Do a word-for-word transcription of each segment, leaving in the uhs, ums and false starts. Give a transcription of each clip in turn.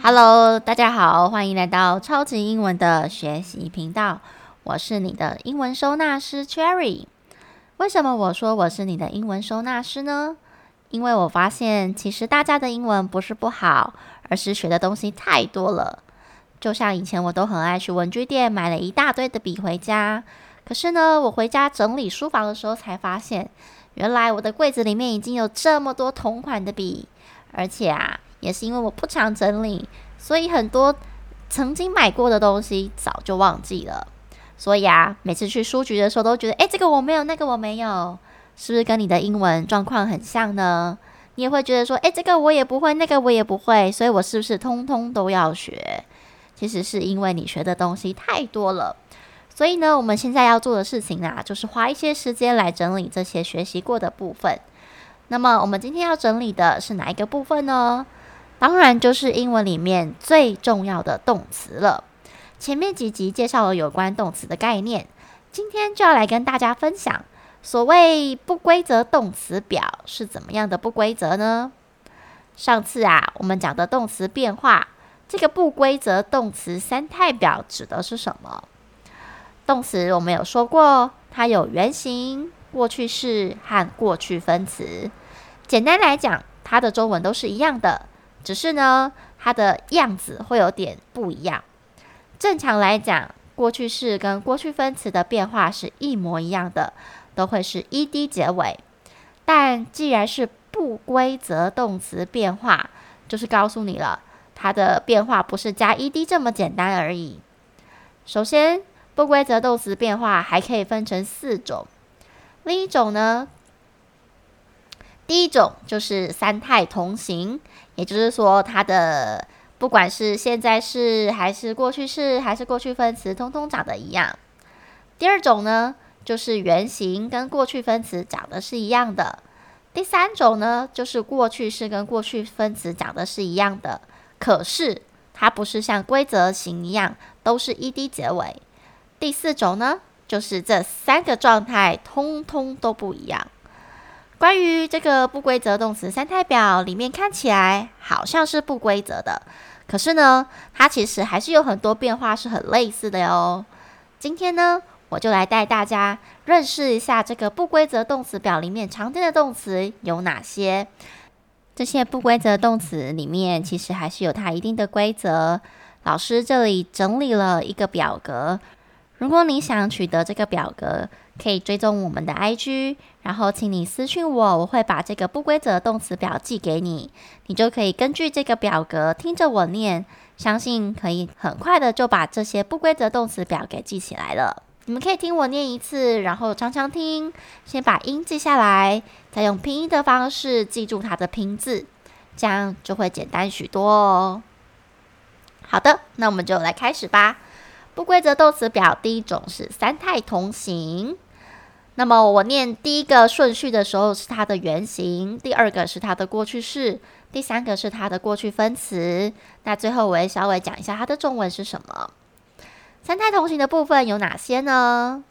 Hello，大家好，歡迎來到超級英文的學習頻道。我是你的英文收納師 Cherry。為什麼我說我是你的英文收納師呢？因為我發現其實大家的英文不是不好，而是學的東西太多了。就像以前我都很愛去文具店買了一大堆的筆回家，可是呢，我回家整理書房的時候才發現，原來我的櫃子裡面已經有這麼多同款的筆，而且啊。也是因為我不常整理，所以很多曾經買過的東西早就忘記了。所以啊，每次去書局的時候都覺得，誒，這個我沒有，那個我沒有，是不是跟你的英文狀況很像呢？你也會覺得說，誒，這個我也不會，那個我也不會，所以我是不是通通都要學？其實是因為你學的東西太多了。所以呢，我們現在要做的事情啊，就是花一些時間來整理這些學習過的部分。那麼我們今天要整理的是哪一個部分呢？當然就是英文裡面最重要的動詞了。前面幾集介紹了有關動詞的概念，今天就要來跟大家分享所謂不規則動詞表是怎麼樣的不規則呢？上次啊，我們講的動詞變化，這個不規則動詞三態表指的是什麼？動詞我們有說過，它有原形、過去式和過去分詞。簡單來講，它的中文都是一樣的。只是呢，它的樣子會有點不一樣。正常來講，過去式跟過去分詞的變化是一模一樣的，都會是 ed 結尾。但既然是不規則動詞變化，就是告訴你了，它的變化不是加 ed 這麼簡單而已。首先，不規則動詞變化還可以分成四種。另一種呢，第一種就是三態同形，也就是說，它的不管是現在式還是過去式還是過去分詞，通通長得一樣。第二種呢，就是原形跟過去分詞長得是一樣的。第三種呢，就是過去式跟過去分詞長得是一樣的，可是它不是像規則型一樣都是 ed 結尾。第四種呢，就是這三個狀態通通都不一樣。關於這個不規則動詞三態表裡面看起來好像是不規則的，可是呢，它其實還是有很多變化是很類似的喲。今天呢，我就來帶大家認識一下這個不規則動詞表裡面常見的動詞有哪些。這些不規則動詞裡面其實還是有它一定的規則。老師這裡整理了一個表格，如果你想取得這個表格，可以追蹤我們的 I G， 然後請你私訊我，我會把這個不規則動詞表寄給你，你就可以根據這個表格聽着我念，相信可以很快的就把這些不規則動詞表給記起來了。你們可以聽我念一次，然後常常聽，先把音記下來，再用拼音的方式記住它的拼字，這樣就會簡單許多哦。好的，那我們就來開始吧。不規則動詞表第一種是三態同形。那麼我念第一個順序的時候是它的原形，第二個是它的過去式，第三個是它的過去分詞。那最後我也稍微講一下它的中文是什麼。三態同形的部分有哪些呢？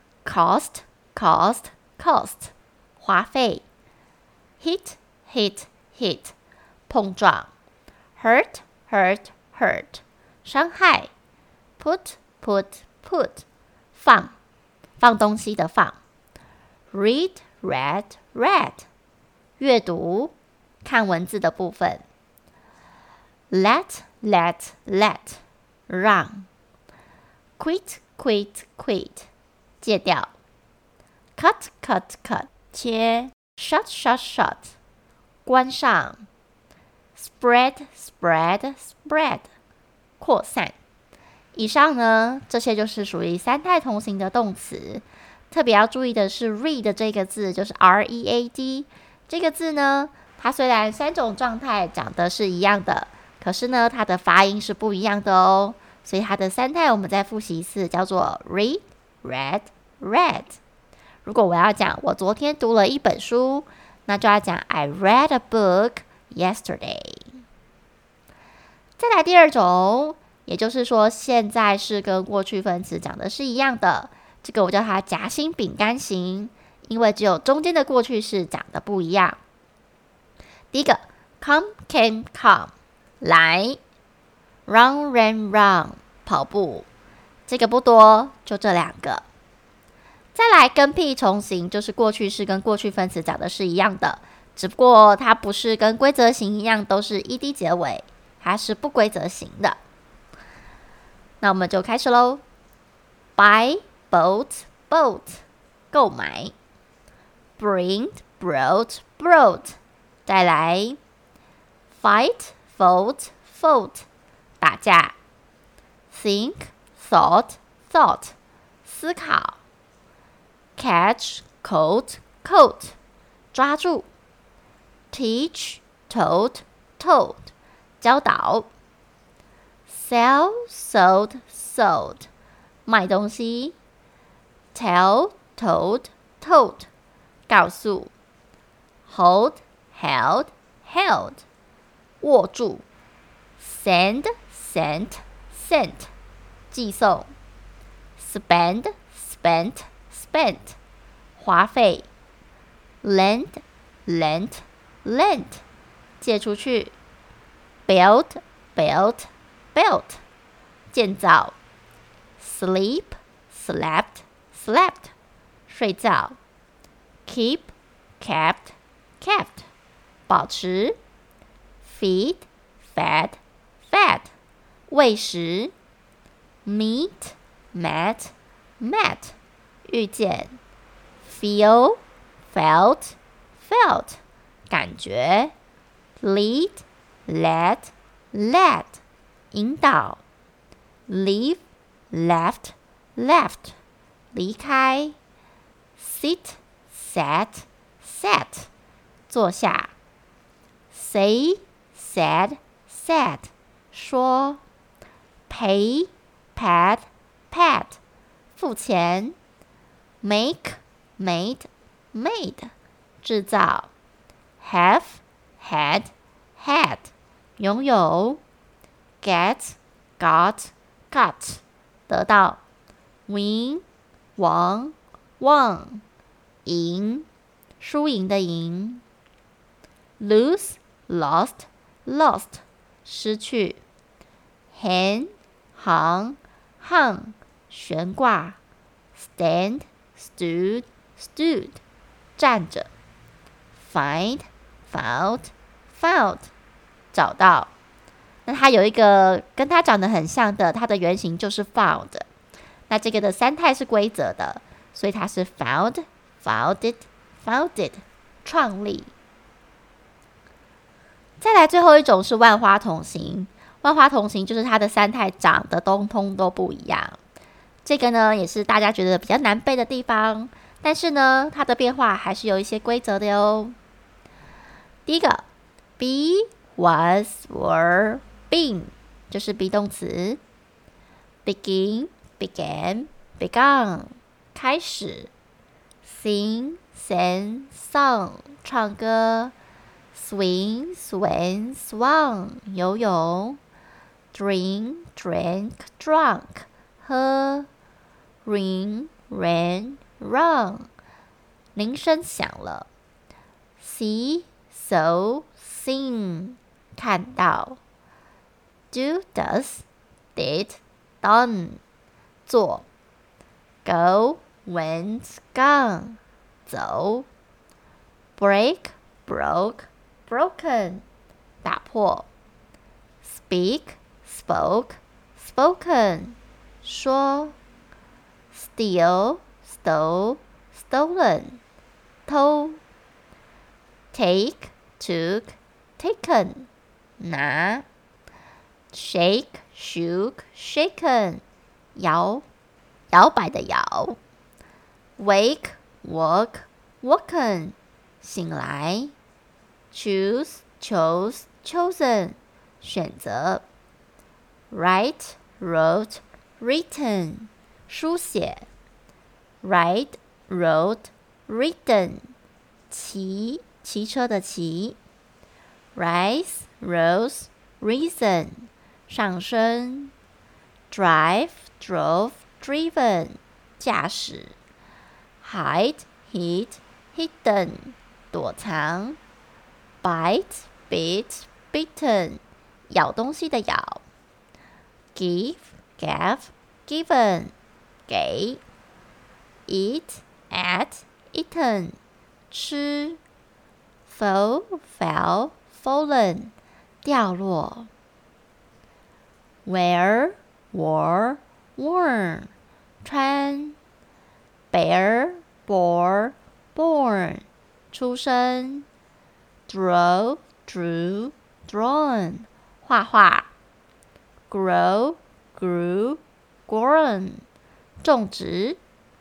cost cost cost 花費， hit hit hit 碰撞， hurt hurt hurt 傷害， put put put 放放東西的放，read read read 閱讀看文字的部分，let let let 讓，quit quit quit 戒掉，cut cut cut 切，shut shut shut 關上，spread spread spread 擴散。以上呢，這些就是屬於三態同形的動詞。特別要注意的是 read 這個字，就是 R E A D 這個字呢，它雖然三種狀態講的是一樣的，可是呢，它的發音是不一樣的哦。所以它的三態我們再複習一次，叫做 read read read。如果我要講我昨天讀了一本書，那就要講 I read a book yesterday。再來第二種，也就是說現在式跟過去分詞講的是一樣的，這個我叫它夾心餅乾型，因為只有中間的過去式講的不一樣。第一個 come came come 來 Run, ran, run，跑步。這個不多，就這兩個。再來跟屁重形，就是過去式跟過去分詞長得是一樣的，只不過它不是跟規則型一樣都是 ed 結尾，它是不規則型的。那我們就開始嘍。Buy, bought, bought， 購買。Bring, brought, brought， 再來。Fight, fought, fought， 打架。Think, thought, thought， 思考。Catch, caught, caught， 抓住。Teach, taught, taught， 教導。Sell, sold, sold， 賣東西。Tell, told, told， 告訴。Hold, held, held， 握住。Send, sent, sent， 寄送。Spend, spent, spent， 花費。Lend, lent, lent， 借出去。Build, built, built， 建造。Sleep, slept, slept， 睡覺。Keep, kept, kept， 保持。Feed, fed, fed， 餵食。Meet, met, met， 遇見。Feel, felt, felt， 感覺。Lead, led, led， 引導。Leave, left, left， 離開。Sit, sat, sat， 坐下。Say, said, said， 說。Pay, paid, paid， 付錢。Make, made, made， 製造。Have, had, had， 擁有。Get, got, got， 得到。Win, won, won， 贏，輸贏的贏。Lose, lost, lost， 失去。Hang, hung, hung， 懸掛。Stand, stood, stood， 站着。Find, found, found， 找到。那它有一個跟它長得很像的，它的原型就是 found。那這個的三態是規則的，所以它是 found, founded, founded， 創立。再來最後一種是萬花筒形。萬花筒形就是它的三態長得通通都不一樣。這個呢也是大家覺得比較難背的地方，但是呢它的變化還是有一些規則的喲。第一個 be, was, were, been， 就是 be 動詞。Begin, began, begun， 開始。Sing, sang, sung， 唱歌。Swim, swam, swung， 游泳。Drink, drank, drunk， 喝。Ring, ran, run， 鈴聲響了。See, saw, seen， 看到。Do, does, did, done， 做。Go, went, gone， 走。Break, broke, broken， 打破。Speak, spoke, spoken， 說。Steal, stole, stolen， 偷。Take, took, taken， 拿。Shake, shook, shaken， 搖，搖擺的搖。Wake, woke, woken， 醒來。Choose, chose, chosen， 選擇。Write, wrote, written， 書寫。Ride, rode, ridden， 騎，騎車的騎。Rise, rose, risen， 上升。Drive, drove, driven， 駕駛。Hide, hid, hidden， 躲藏。Bite, bit, bitten， 咬東西的咬。 give, gave, given, 給 eat, ate, eaten, 吃 fall, fell, fallen, 掉落 wear, wore, worn, 穿 bear, bore, born, 出生 draw, drew, drawn, 畫畫 grow, grew, grown, 種植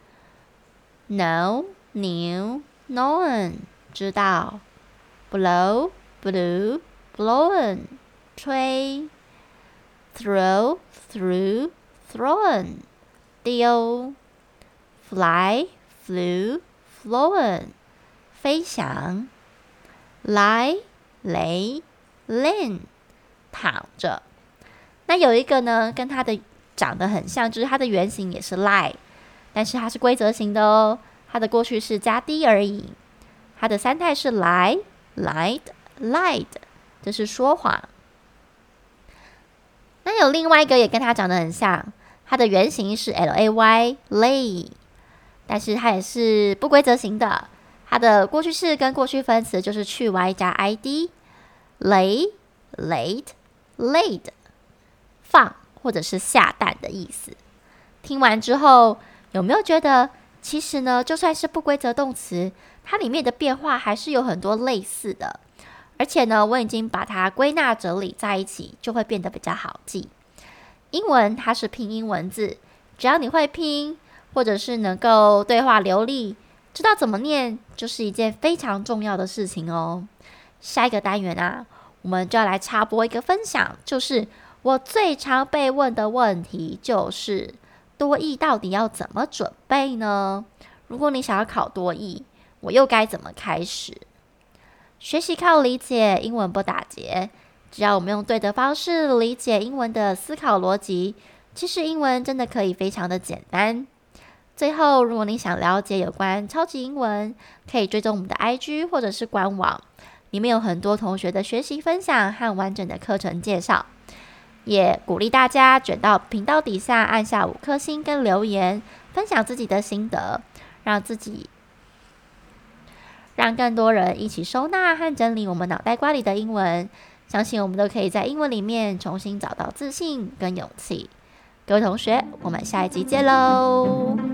know, knew, known, 知道 blow, blew, blown, 吹 throw, threw, thrown, 丟 fly, flew, flown, 飛翔 lie, lay, lain, 躺着。那有一個呢，跟它的長得很像，就是它的原型也是 lie， 但是它是規則型的哦，它的過去式加 d 而已。它的三態是 lie, lied, lied， 這是說謊。那有另外一個也跟它長得很像，它的原型是 lay, lay， 但是它也是不規則型的。它的過去式跟過去分詞就是去 y 加 id， lay, laid, laid， 放或者是下蛋的意思。聽完之後，有沒有覺得其實呢，就算是不規則動詞，它裡面的變化還是有很多類似的，而且呢，我已經把它歸納整理在一起，就會變得比較好記。英文它是拼音文字，只要你會拼，或者是能夠對話流利，知道怎麼念，就是一件非常重要的事情哦。下一個單元啊，我們就要來插播一個分享，就是我最常被問的問題就是多益到底要怎麼準備呢？如果你想要考多益，我又該怎麼開始？學習靠理解，英文不打結。只要我們用對的方式理解英文的思考邏輯，其實英文真的可以非常的簡單。最後，如果你想了解有關超級英文，可以追蹤我們的 I G 或者是官網，裡面有很多同學的學習分享和完整的課程介紹。也鼓勵大家捲到頻道底下按下五顆星跟留言，分享自己的心得，讓自己讓更多人一起收納和整理我們腦袋瓜裡的英文。相信我們都可以在英文裡面重新找到自信跟勇氣。各位同學，我們下一集見嘍！